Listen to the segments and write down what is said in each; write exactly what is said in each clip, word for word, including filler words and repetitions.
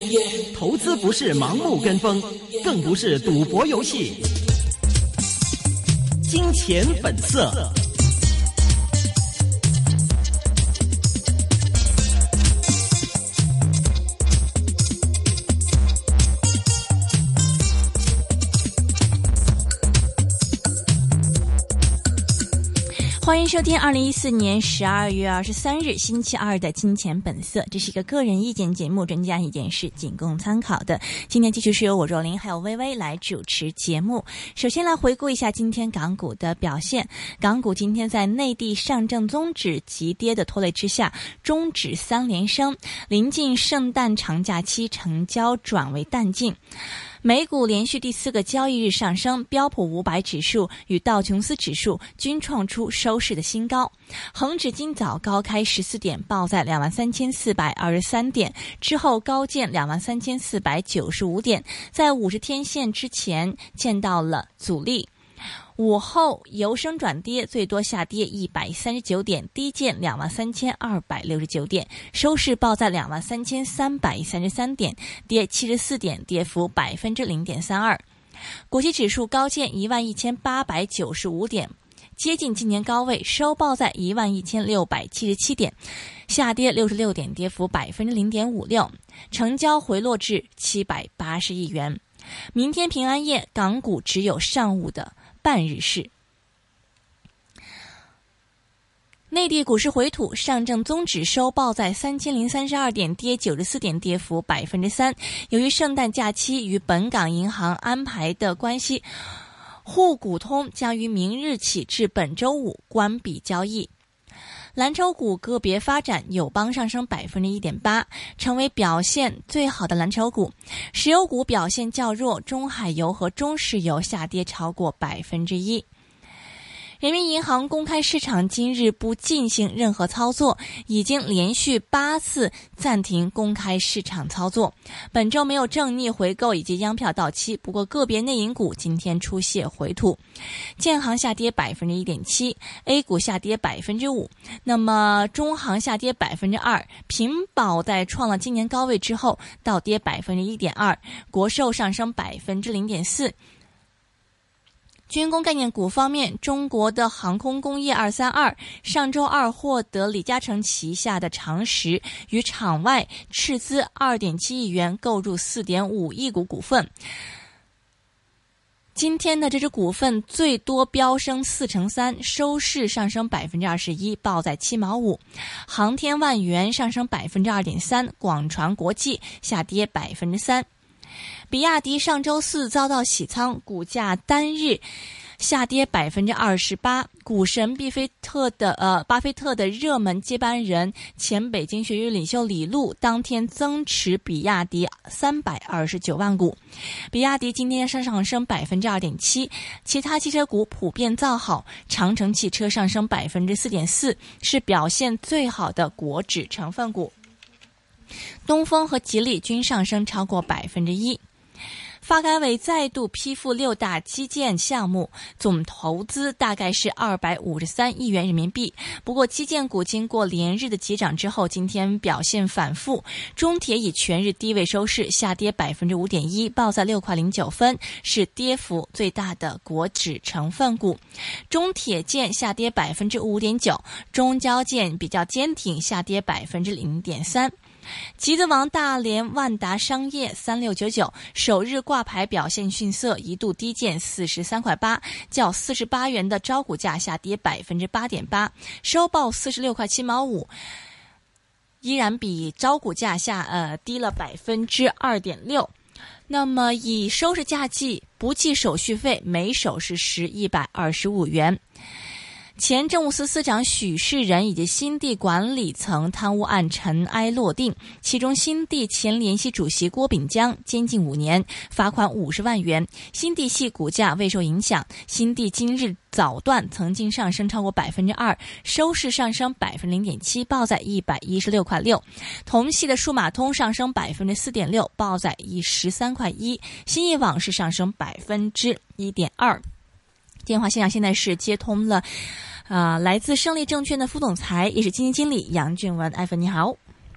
投资不是盲目跟风，更不是赌博游戏。金钱本色。 欢迎收听二零一四年十二月二十三日星期二的金钱本色，这是一个个人意见节目，专家意见是仅供参考的。今天继续是由我若琳还有微微来主持节目。首先来回顾一下今天港股的表现，港股今天在内地上证综指急跌的拖累之下，中指三连升，临近圣诞长假期，成交转为淡静。美股连续第四个交易日上升，标普五百指数与道琼斯指数均创出收市的新高。恒指今早高开十四点，报在两万三千四百二十三点，之后高见两万三千四百九十五点，在五十天线之前见到了阻力。午后由升转跌，最多下跌一百三十九点，低见两万三千二百六十九点，收市报在两万三千三百三十三点，跌七十四点，跌幅百分之零点三二。国际指数高见一万一千八百九十五点，接近今年高位，收报在一万一千六百七十七点，下跌六十六点，跌幅百分之零点五六，成交回落至七百八十亿元。明天平安夜，港股只有上午的半日市。内地股市回吐，上证综指收报在三千零三十二点，跌九十四点，跌幅百分之三。由于圣诞假期与本港银行安排的关系，沪股通将于明日起至本周五关闭交易。蓝筹股个别发展，友邦上升 百分之一点八， 成为表现最好的蓝筹股。石油股表现较弱，中海油和中石油下跌超过 百分之一。人民银行公开市场今日不进行任何操作，已经连续八次暂停公开市场操作。本周没有正逆回购以及央票到期，不过个别内银股今天出现回吐。建行下跌 百分之一点七， A 股下跌 百分之五， 那么中行下跌 百分之二， 平保在创了今年高位之后倒跌 百分之一点二， 国寿上升 百分之零点四。军工概念股方面，中国的航空工业二三二上周二获得李嘉诚旗下的长实与场外斥资 二点七亿元购入 四点五亿股股份。今天的这只股份最多飙升四成三，收市上升 百分之二十一， 报在七毛五。航天万元上升 百分之二点三， 广传国际下跌 百分之三。比亚迪上周四遭到洗仓，股价单日下跌 百分之二十八。股神毕菲特的呃巴菲特的热门接班人前北京学院领袖李路当天增持比亚迪三百二十九万股。比亚迪今天上升 百分之二点七， 其他汽车股普遍造好，长城汽车上升 百分之四点四， 是表现最好的国指成分股。东风和吉利均上升超过 百分之一。发改委再度批复六大基建项目，总投资大概是二百五十三亿元人民币。不过基建股经过连日的急涨之后，今天表现反复。中铁以全日低位收市，下跌 百分之五点一， 报在六块零九分，是跌幅最大的国指成分股。中铁建下跌 百分之五点九， 中交建比较坚挺，下跌 百分之零点三。集资王大连万达商业三六九九首日挂牌表现逊色，一度低见四十三块八，较四十八元的招股价下跌 百分之八点八， 收报四十六块七毛五，依然比招股价下呃低了 百分之二点六。那么以收市价计，不计手续费，每手是十一百二十五元。前政务司司长许世仁以及新地管理层贪污案尘埃落定，其中新地前联席主席郭炳江监禁五年，罚款五十万元。新地系股价未受影响，新地今日早段曾经上升超过 百分之二， 收市上升 百分之零点七， 报在一百一十六块六。同系的数码通上升 百分之四点六， 报在十三块一。新意网是上升 百分之一点二。电话线上现在是接通了啊、呃，来自胜利证券的副总裁，也是基金经理杨俊文。艾芬你好。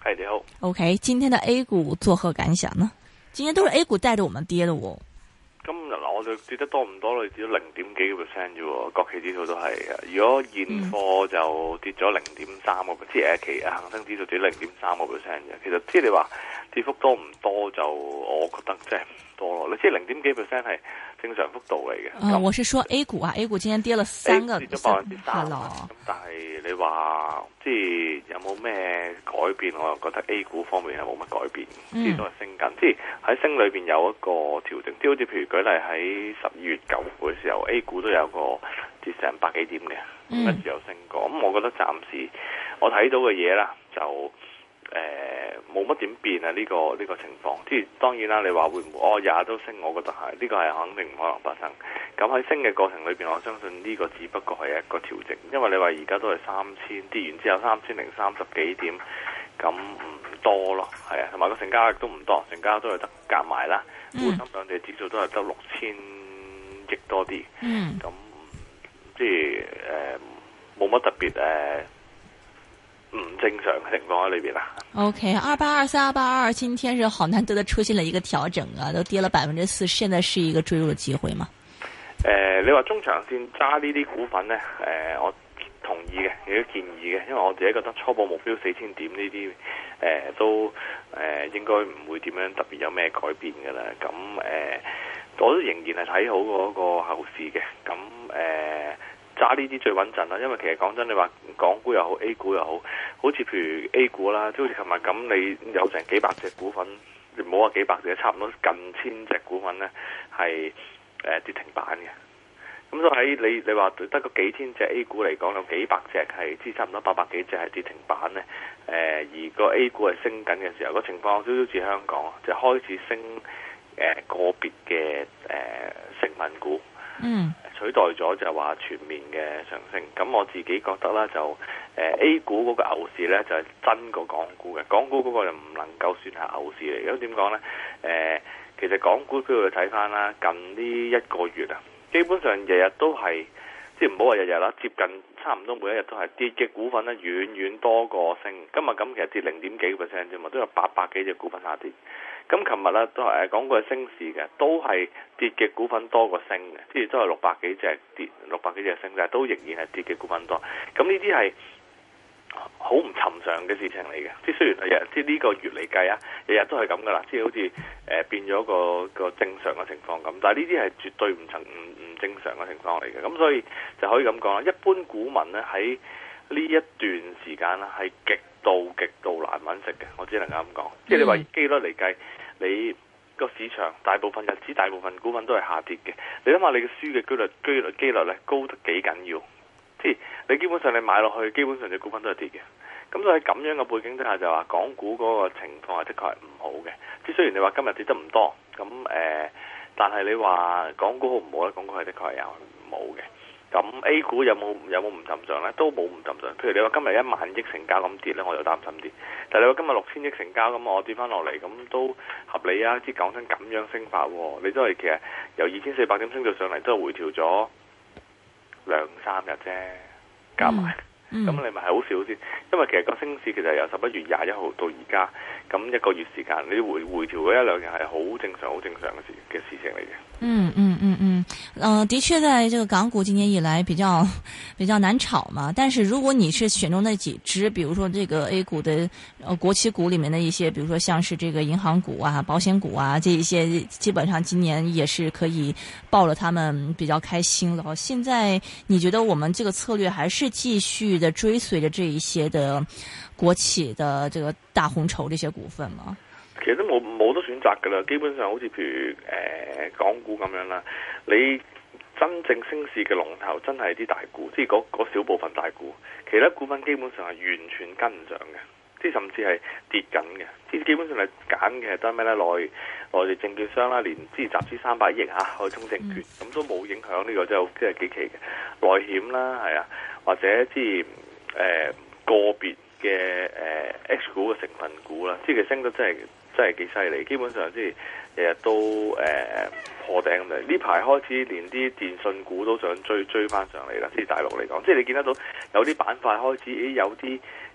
係你好。 OK， 今天的 A 股作何感想呢？今天都是 A 股帶着我們跌的喎。 今日嗱，我哋跌得多唔多咧？跌咗零點幾個 percent 啫喎，國企指數都係。如果現貨就跌咗零點三個 percent，即係期恒生指數跌零點三個 percent 嘅。其實即係你話跌幅多唔多，就我覺得即係唔多咯。你即係零點幾 percent 係正常幅度嚟嘅。 啊、呃，我是說 A 股啊 ，A 股今天跌了三個， 跌咗百分之三咯。 咁但係你話即係有冇咩改變？我又覺得 A 股方面係冇乜改變，即係都係升緊。即係喺升裏邊有一個調整，即係好似譬如舉例喺十二月九號嘅時候 A 股都有個跌成百幾點嘅，咁跟住又升過。咁、嗯、我覺得暫時我睇到嘅嘢啦，就誒冇乜點變啊！呢、這個呢、這個情況，即係當然啦。你話會唔會哦日日都升？我覺得係呢、這個係肯定唔可能發生。咁喺升嘅過程裏邊，我相信呢個只不過係一個調整，因為你話而家都係三千跌完之後三千零三十幾點，咁唔多咯，係啊，同埋個成交亦都唔多，成交都係得夾埋啦。滬深兩地指數都係得六千億多啲，咁、嗯、即係誒冇乜特別誒唔正常嘅情況喺裏邊啦。 OK， 二八二三、二八二，今天是好難得的出現了一個調整啊，都跌了百分之四，現在是一個追入嘅機會嗎？ 誒、呃，你話中長線揸呢啲股份呢？誒、呃，我同意嘅，亦都建議嘅，因為我自己覺得初步目標四千點呢啲，誒、呃、都誒、呃、應該唔會點樣特別有咩改變㗎啦。咁誒、呃，我都仍然係睇好嗰個後市嘅。咁誒，揸呢啲最穩陣啦，因為其實講真，你話港股又好 A 股又好，好似譬如 A 股啦，即好似琴日咁，你有成幾百隻股份，你唔好話幾百隻，差唔多近千隻股份呢係。誒、呃、跌停板嘅，咁所以喺你你話得個幾千隻 A 股嚟講，有幾百隻係即差唔多八百幾隻係跌停板咧。誒、呃、而個 A 股係升緊嘅時候，個情況少少似香港，就開始升誒、呃、個別嘅誒、呃、成分股，嗯，取代咗就話全面嘅上升。咁我自己覺得啦，就誒、呃、A 股嗰個牛市咧就係、是、真過港股嘅，港股嗰個就唔能夠算係牛市嚟。咁點講咧？誒、呃其實港股都要睇翻啦，近呢一個月啊，基本上日日都係，即係唔好話日日啦，接近差唔多每一日都係跌嘅股份咧，遠遠多過升。今日咁其實跌零點幾個 percent 啫嘛，都有八百幾隻股份下跌。咁琴日咧都係誒講過係升市嘅，都係跌嘅股份多過升嘅，即係都係六百幾隻跌，六百幾隻升，但係都仍然係跌嘅股份多。咁呢啲係好唔尋常嘅事情嚟嘅，即係雖然係日，即係呢個月嚟計啊，日日都係咁噶啦，即係好似誒、呃、變咗個個正常嘅情況咁。但係呢啲係絕對唔曾唔唔正常嘅情況嚟嘅，咁所以就可以咁講啦。一般股民咧喺呢一段時間咧係極度極度難揾食嘅，我只能夠咁講。即係你話機率嚟計，你個市場大部分日子大部分股份都係下跌嘅，你諗下你嘅輸嘅機率機率機率咧高得幾緊要？你基本上你買落去，基本上隻股份都係跌嘅。咁所以喺咁樣嘅背景之下，就話港股嗰個情況係的確係唔好嘅。即係雖然你話今日跌得唔多，咁誒、呃，但係你話港股好唔好咧？港股係的確係有唔好嘅。咁 A 股有冇有冇唔尋常咧？都冇唔尋常。譬如你話今日一萬億成交咁跌咧，我就擔心啲。但係你話今日六千億成交咁，我跌翻落嚟咁都合理啊！即係講真咁樣升法，你都係其實由二千四百點升到上嚟，都係回調咗兩三日啫，加埋，咁、嗯嗯、你咪係好少先。因為其實個升市其實由十一月廿一號到而家，咁一個月時間，你回回調嗰一兩日係好正常、好正常嘅事嘅事情嚟嘅。嗯嗯嗯嗯，呃，的確，在這個港股今年以來比較比較難炒嘛。但是如果你是選中那幾隻，比如說這個 A 股的呃國企股裏面的一些，比如說像是這個銀行股啊、保險股啊，這一些基本上今年也是可以抱了他們比較開心了。現在你覺得我們這個策略還是繼續的追隨着這一些的國企的這個大紅籌這些股份嗎？ 其實都冇冇得選擇噶啦，基本上好似譬如誒、呃、港股咁樣啦，你真正升市嘅龍頭真係啲大股，即係嗰嗰小部分大股，其他股份基本上係完全跟唔上嘅，即係甚至係跌緊嘅。即係基本上係揀嘅得咩咧？內內地證券商啦，連即係集資三百億嚇海通證券，咁、嗯、都冇影響呢、呢個真係即係幾奇嘅。內險啦，係啊，或者即係誒個別嘅誒 H 股嘅成分股啦，即係佢升得真係。真係幾犀利，基本上即係日日都誒、呃、破頂咁嚟。呢排開始連啲電信股都想追追翻上嚟啦，即係大陸嚟講，即係你見得到有啲板塊開始，咦有啲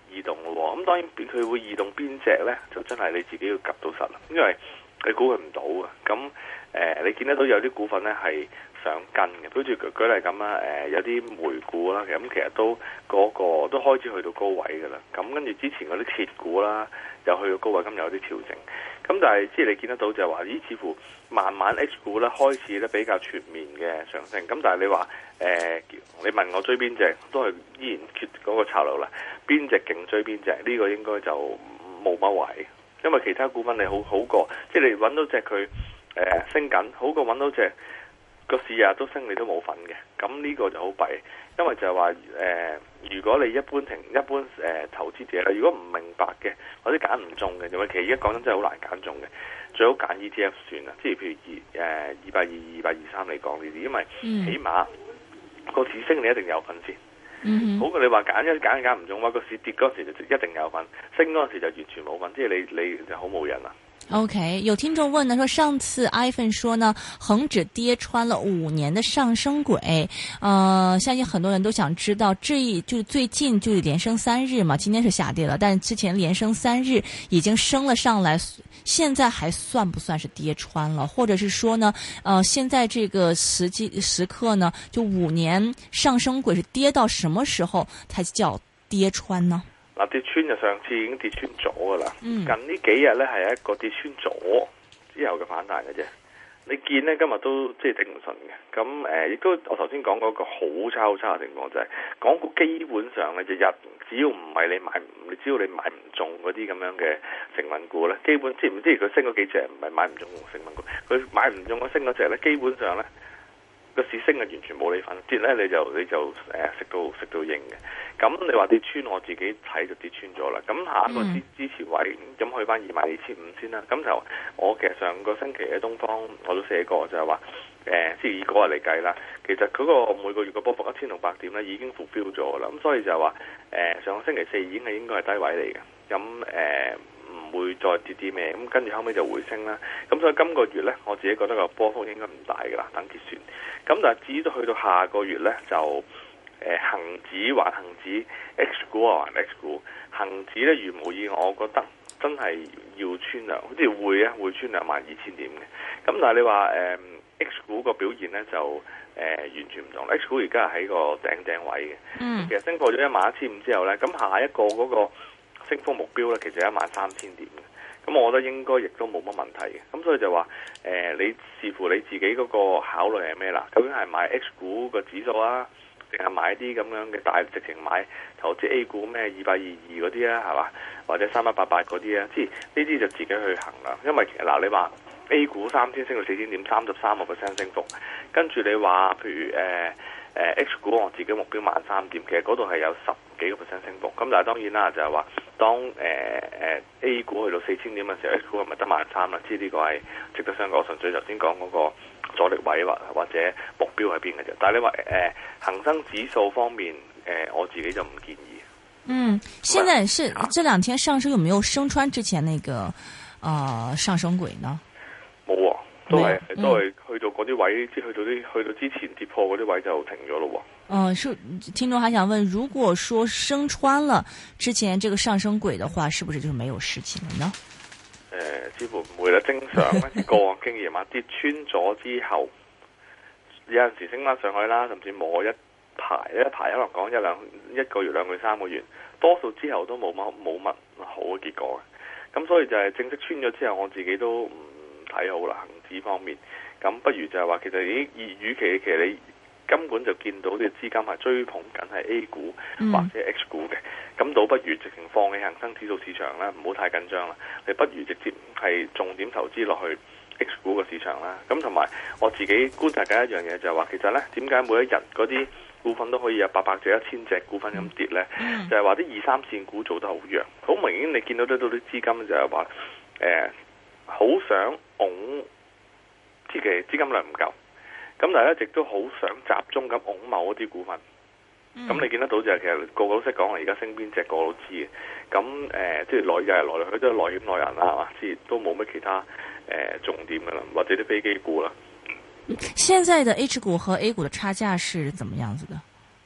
異動咯。咁當然佢會異動邊隻呢？就真係你自己要及到實啦，因為你估佢唔到啊。咁誒、呃，你見得到有啲股份呢係想跟嘅，好似舉舉例咁啦，誒、呃、有啲煤股啦，咁其實都嗰、嗰個都開始去到高位噶啦。咁跟住之前嗰啲鐵股啦，又去到高位，今日有啲調整。咁但係即係你見得到就係話，咦？似乎慢慢 H 股咧開始咧比較全面嘅上升。咁但係你話誒、呃，你問我追邊隻，都係依然缺嗰個策略啦。邊隻勁追邊隻？呢、呢個應該就冇乜位，因為其他股份你好好過，即係你揾到隻佢誒升緊，好過揾到隻個市日都升，你都冇份嘅。咁呢個就好弊，因為就係話誒，如果你一般停一般誒、呃、投資者啦，如果唔明白嘅或者揀唔中嘅，因為其實而家講真真係好難揀中嘅，最好揀 E T F 算啦。即係譬如二誒二百二、二百二三嚟講呢啲，因為起碼個市升你一定有份先。嗯、好過你話揀一揀揀唔中，話個市跌嗰時就一定有份，升嗰時就完全冇份，即係你你就好冇癮啦。 OK， 有聽眾問呢，說上次 iPhone 說呢，恒指跌穿了五年的上升軌，呃，相信很多人都想知道，這一就是最近就是連升三日嘛，今天是下跌了，但之前連升三日已經升了上來，現在還算不算是跌穿了？或者是說呢，呃，現在這個時機時刻呢，就五年上升軌是跌到什麼時候才叫跌穿呢？ 嗱，跌穿就上次已經跌穿咗噶啦， 嗯、 近呢幾日咧係一個跌穿咗之後嘅反彈嘅啫。你見咧今日都即係頂唔順嘅，咁誒亦都我頭先講嗰個好差好差嘅情況就係、是，港股基本上咧就日只要唔係你買，你只要你買唔中嗰啲咁樣嘅成分股咧，基本即係唔知佢升嗰幾隻唔係買唔中成分股，佢買唔中嗰升嗰隻咧，基本上咧個市升係完全冇你份，跌咧你就你就誒食到食到應嘅。咁你話跌穿，我自己睇就跌穿咗啦。咁下一個支支持位，咁去翻二萬二千五先啦。咁就我其實上個星期嘅東方我都寫過，就係話誒，即係以嗰日嚟計啦。其實嗰個每個月嘅波幅一千六百點咧，已經 fulfill 咗啦。咁所以就係話誒，上個星期四已經係應該係低位嚟嘅。咁誒唔會再跌啲咩。咁跟住後尾就回升啦。咁所以今個月咧，我自己覺得個波幅應該唔大㗎啦，等結算。咁但係至於到去到下個月咧，就誒恆指還恆指 H 股啊還 H 股，恆指咧如無意外，我覺得真係要穿兩，好似會啊會穿兩萬二千點嘅。咁但係你話誒、呃、H 股個表現咧就誒、呃、完全唔同 ，H 股而家係喺個頂頂位嘅。嗯，其實升破咗一萬一千五之後咧，咁下一個嗰個升幅目標咧，其實係一萬三千點嘅。咁我覺得應該亦都冇乜問題嘅。咁所以就話誒、呃，你視乎你自己嗰個考慮係咩啦？究竟係買 H 股個指數啊？定係買啲咁樣嘅大直情買投資 A 股咩二百二二嗰啲啊，係嘛？或者三一八八嗰啲啊，即係呢啲就自己去衡量。因為其實嗱，你話 A 股三千升到四千點，三十三個 percent 升幅，跟住你話譬如誒誒、呃呃、H 股我自己目標萬三點，其實嗰度係有十幾個 percent 升幅。咁但係當然啦，就係話當誒誒、呃、A 股去到四千點嘅時候，H 股係咪得萬三啦？即係呢個係值得商榷。純粹頭先講嗰個阻力位或或者目標喺邊嘅啫，但係你話誒恒生指數方面，誒、呃、我自己就唔建議。嗯， 現在是這兩天上升有沒有升穿之前那個呃上升軌呢？ 冇、啊，都係、嗯、都係去到嗰啲位，即係去到啲去到之前跌破嗰啲位就停咗咯。 嗯、呃，是聽眾還想問，如果說升穿了之前這個上升軌的話，是不是就是沒有事情了呢？ 誒、呃，似乎唔會啦。正常咧，個案經驗啊，跌穿咗之後，有陣時升翻上去啦，甚至摸一排一排，可能講一兩一個月、兩個月、三個月，多數之後都冇乜冇乜好嘅結果嘅。咁所以就係正式穿咗之後，我自己都唔睇好啦。恒指方面，咁不如就係話，其實已經與其其實你根本就見到啲資金係追捧緊係 A 股或者 H 股嘅，咁、嗯、倒不如直情放棄恒生指數市場啦，唔好太緊張啦。你不如直接係重點投資落去 H 股個市場啦。咁同埋我自己觀察緊一樣嘢就係話，其實呢點解每一日嗰啲股份都可以有八百隻、一千隻股份咁跌呢？嗯、就係話啲二三線股做得好弱，好明顯你見到得到啲資金就係話誒好想拱，即係資金量唔夠。咁但係一直都好想集中咁拱某一啲股份，咁、嗯、你見得到就係其實個個都識講，而家升邊隻個個都知嘅。咁誒、呃，即係內又係來來去都係內險內人啦，係嘛？即係都冇乜其他誒、呃、重點噶啦，或者啲飛機股啦。 現在的 H 股和 A 股的差價是怎麼樣子的？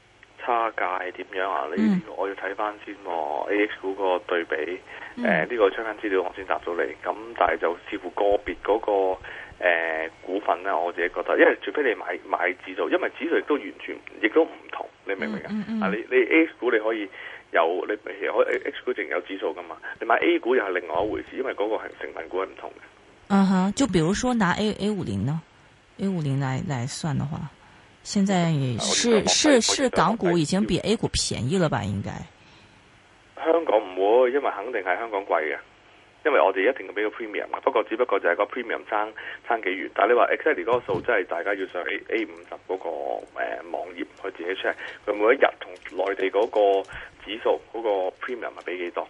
差價係點樣啊？呢、 嗯、 我要睇翻先喎 A X 股個對比。誒、 嗯， 呢、呃這個出翻資料我先答到你。咁但係就視乎個別嗰、那個誒、呃、股份咧，我自己覺得，因為除非你買買指數，因為指數亦都完全亦都唔同，你明唔明啊？ 嗯嗯嗯、 啊，你你 A X 股你可以有，你其實可以 H 股淨有指數噶嘛？你買 A 股又係另外一回事，因為嗰個係成分股係唔同嘅。 嗯哼，就比如說拿 A A 五零呢 ，A 五零來來算的話，現在是是是港股已經比 A 股便宜了吧？應該香港唔會，因為肯定係香港貴嘅，因為我哋一定要俾個 premium 嘅。不過只不過就係個 premium 爭爭幾遠。但係你話 exactly 嗰個數，真係大家要上 A A 五十嗰個誒、呃、網頁去自己 check，佢每一日同內地嗰個指數嗰、嗰個 premium 係俾幾多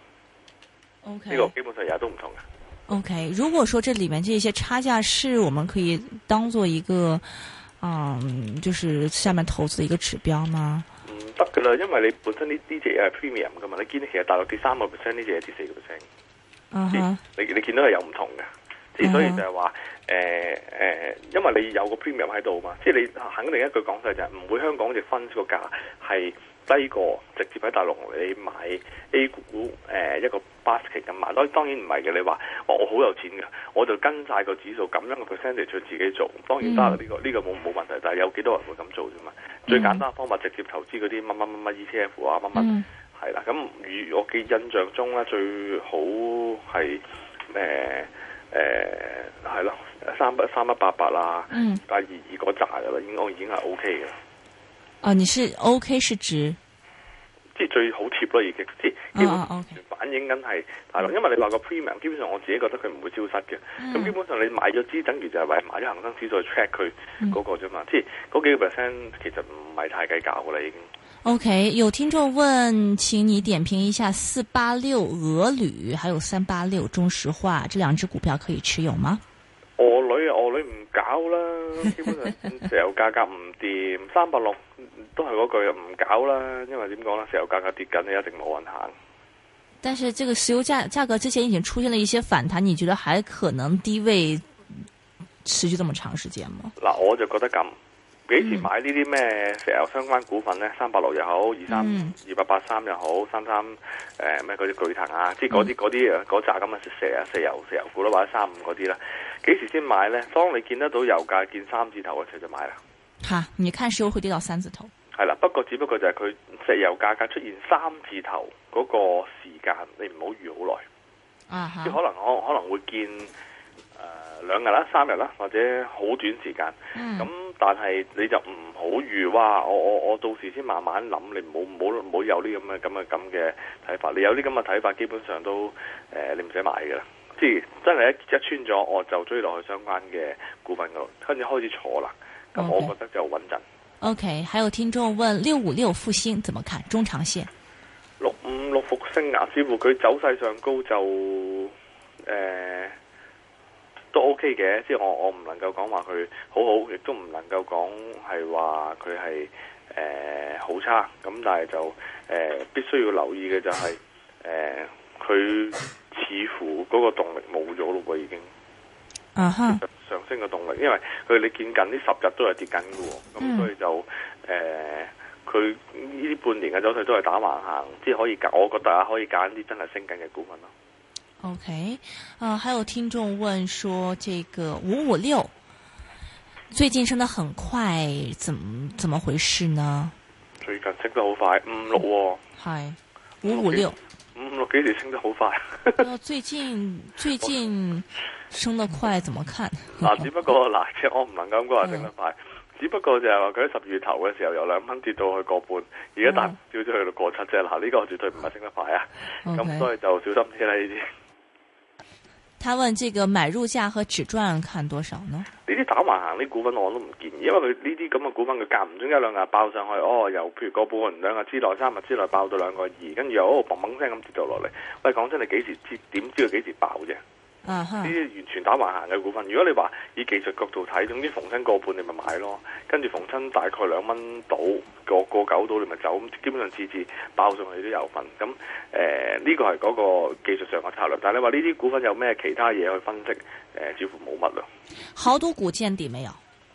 ？OK， 呢個基本上日日都唔同嘅。 OK，如果說這裏面這些差價是我們可以當做一個，嗯，就是下面投資的一個指標嗎？ 唔得噶啦，因為你本身呢呢隻嘢係 premium 噶嘛，你見其實大陸跌三個 percent，呢隻嘢跌四個 percent。 嗯哼， 你你見到係有唔同嘅，即係所以就係話，誒、呃、誒、呃，因為你有個 premium 喺度嘛，即係你肯定一句講晒就係唔會香港隻分個價係低過直接喺大陸你買 A 股誒、呃、一個 basket 咁買，當當然唔係嘅。你話我我好有錢㗎，我就跟晒個指數咁樣個 percentage 去自己做，當然得呢、這個呢、這個冇冇問題。但係有幾多人會咁做啫嘛？嗯、最簡單嘅方法直接投資嗰啲乜乜乜乜 E T F 啊乜乜係啦。咁如我嘅印象中咧，最好係誒誒係咯三一三一八八啦，八二二嗰扎㗎啦，應該已經係 O K 嘅。 哦，你是 OK 是指， 即係最好貼咯，已經即係基本上反映緊係大陸，因為你話個 premium，基本上我自己覺得佢唔會消失嘅。咁、嗯、基本上你買咗支，等於就係為買咗恒生指數去 check 佢嗰個啫嘛。嗯、即係嗰幾個 percent 其實唔係太計較噶啦，已經。OK， 有聽眾問，請你點評一下四八六俄鋁，還有三八六中石化這兩隻股票可以持有嗎？ 俄鋁啊，俄鋁唔搞啦，基本上石油價格唔掂，三八六都係嗰句唔搞啦，因為點講咧，石油價格跌緊，你一定冇運行。 但是這個石油價價格之前已經出現了一些反彈，你覺得還可能低位持續這麼長時間嗎？嗱，我就覺得咁，幾時買呢啲咩石油相關股份咧？三八六又好，二三二八八三又好，三三誒咩嗰啲巨騰啊，即係嗰啲嗰啲嗰扎咁嘅石啊石油石油股啦，或者三五嗰啲啦。幾時先買呢？當你見得到油價見三字頭嘅時候就買啦。吓，你看石油會跌到三字頭？係啦，不過只不過就係佢石油價格出現三字頭嗰個時間，你唔好預好耐。啊哈，即可能我可能會見誒兩日啦、三日啦，或者好短時間。咁、嗯、但係你就唔好預哇！我我我到時先慢慢諗，你唔好唔好唔好有啲咁嘅咁嘅咁嘅睇法。你有啲咁嘅睇法，基本上都誒、呃、你唔使買㗎啦。即係真係一一穿咗，我就追落去相關嘅股份嗰度，跟住開始坐啦。咁我覺得就穩陣。 O、okay. K， 還有聽眾問六五六復星怎麼看中長線？ 六五六復星啊，似乎佢走勢上高就誒、呃、都 O K 嘅，即係我我唔能夠講話佢好好，亦都唔能夠講係話佢係誒好差。咁但係就誒、呃、必須要留意嘅就係誒佢。呃似乎嗰個動力冇咗咯喎，已經。啊哈、uh-huh. 上升嘅動力，因為佢你見近呢十日都係跌緊嘅喎，咁、嗯、所以就誒，佢呢啲半年嘅走勢都係打橫行，即係可以揀，我覺得啊可以揀啲真係升緊嘅股份咯。OK，啊、呃，還有聽眾問說，這個五五六最近升得很快，怎麼怎麼回事呢？最近升得好快，五六喎。係五五六。五六幾時升得好快？最近最近升得快，怎麼看？嗱，只不過嗱，即我唔能夠咁講話升得快，嗯、只不過就係話佢喺十月頭嘅時候由兩蚊跌到去個半，而家彈少咗去到個七啫。嗱，呢個絕對唔係升得快啊！咁、okay. 所以就小心啲啦呢啲。他問這個買入價和止賺看多少呢？呢啲打橫行啲股份我都唔建議，因為佢呢啲咁嘅股份佢間唔中一兩日爆上去，哦，由譬如個半兩日之內、三日之內爆到兩個二，跟住又哦砰砰聲咁跌到落嚟。喂，講真，你幾時知？點知佢幾時爆啫？呢、uh-huh. 啲完全打橫行嘅股份，如果你話以技術角度睇，總之逢親個半你咪買咯，跟住逢親大概兩蚊到個個九到你咪走，咁基本上次次爆上去都有份。咁誒呢個係嗰個技術上嘅策略，但係你話呢啲股份有咩其他嘢去分析？誒、呃，似乎冇乜咯。濠賭股見底沒有？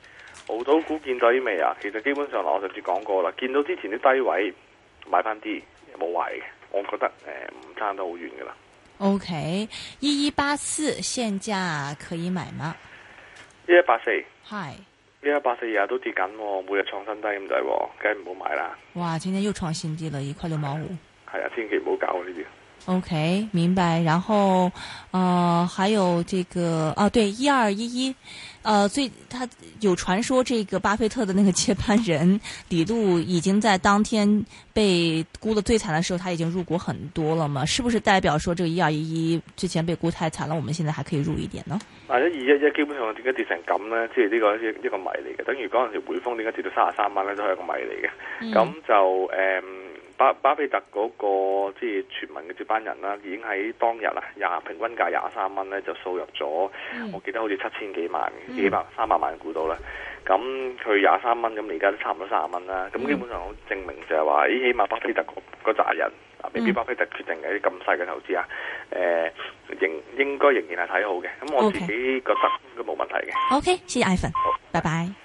濠賭股見底未啊？其實基本上我上次講過啦，見到之前啲低位買翻啲冇壞嘅，我覺得誒唔、呃、差得好遠噶啦。 OK， 一一八四現價可以買嗎？ 一一八四， 係一一八四日日都跌緊，每日創新低咁滯，梗係唔好買啦。 哇，今天又創新低了，一塊六毛五。 係啊，千祈唔好搞呢啲。 OK，明白。然後，呃，還有這個啊，對，一二一一，呃，最他有傳說，這個巴菲特的那個接班人李路已經在當天被沽得最慘的時候，他已經入股很多了嘛？是不是代表說，這個一二一一之前被沽太慘了，我們現在還可以入一點呢？ 嗱，一二一一基本上點解跌成咁呢？即係呢個一一個謎嚟嘅，等於嗰陣時匯豐點解跌到三十三蚊咧，都係一個謎嚟嘅。咁、嗯、就誒。嗯巴巴菲特嗰、那個即係傳聞嘅接班人啦，已經喺當日啊廿平均價廿三蚊咧就掃入咗，嗯、我記得好似七千幾萬、嗯、幾百三百萬股到啦。咁佢廿三蚊，咁而家都差唔多三十蚊啦。咁、嗯、基本上好證明就係話，咦，起碼巴菲特嗰扎人啊，未必巴菲特決定嘅啲咁細嘅投資啊，誒、呃，仍應該仍然係睇好嘅。咁我自己覺得都冇問題嘅。 OK，謝謝 Ivan，拜拜。